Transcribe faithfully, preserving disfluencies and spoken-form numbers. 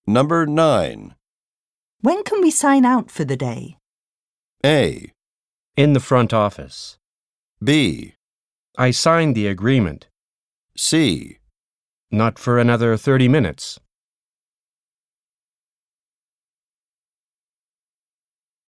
Number nine. When can we sign out for the day? A. In the front office. B. I signed the agreement. C. Not for another thirty minutes.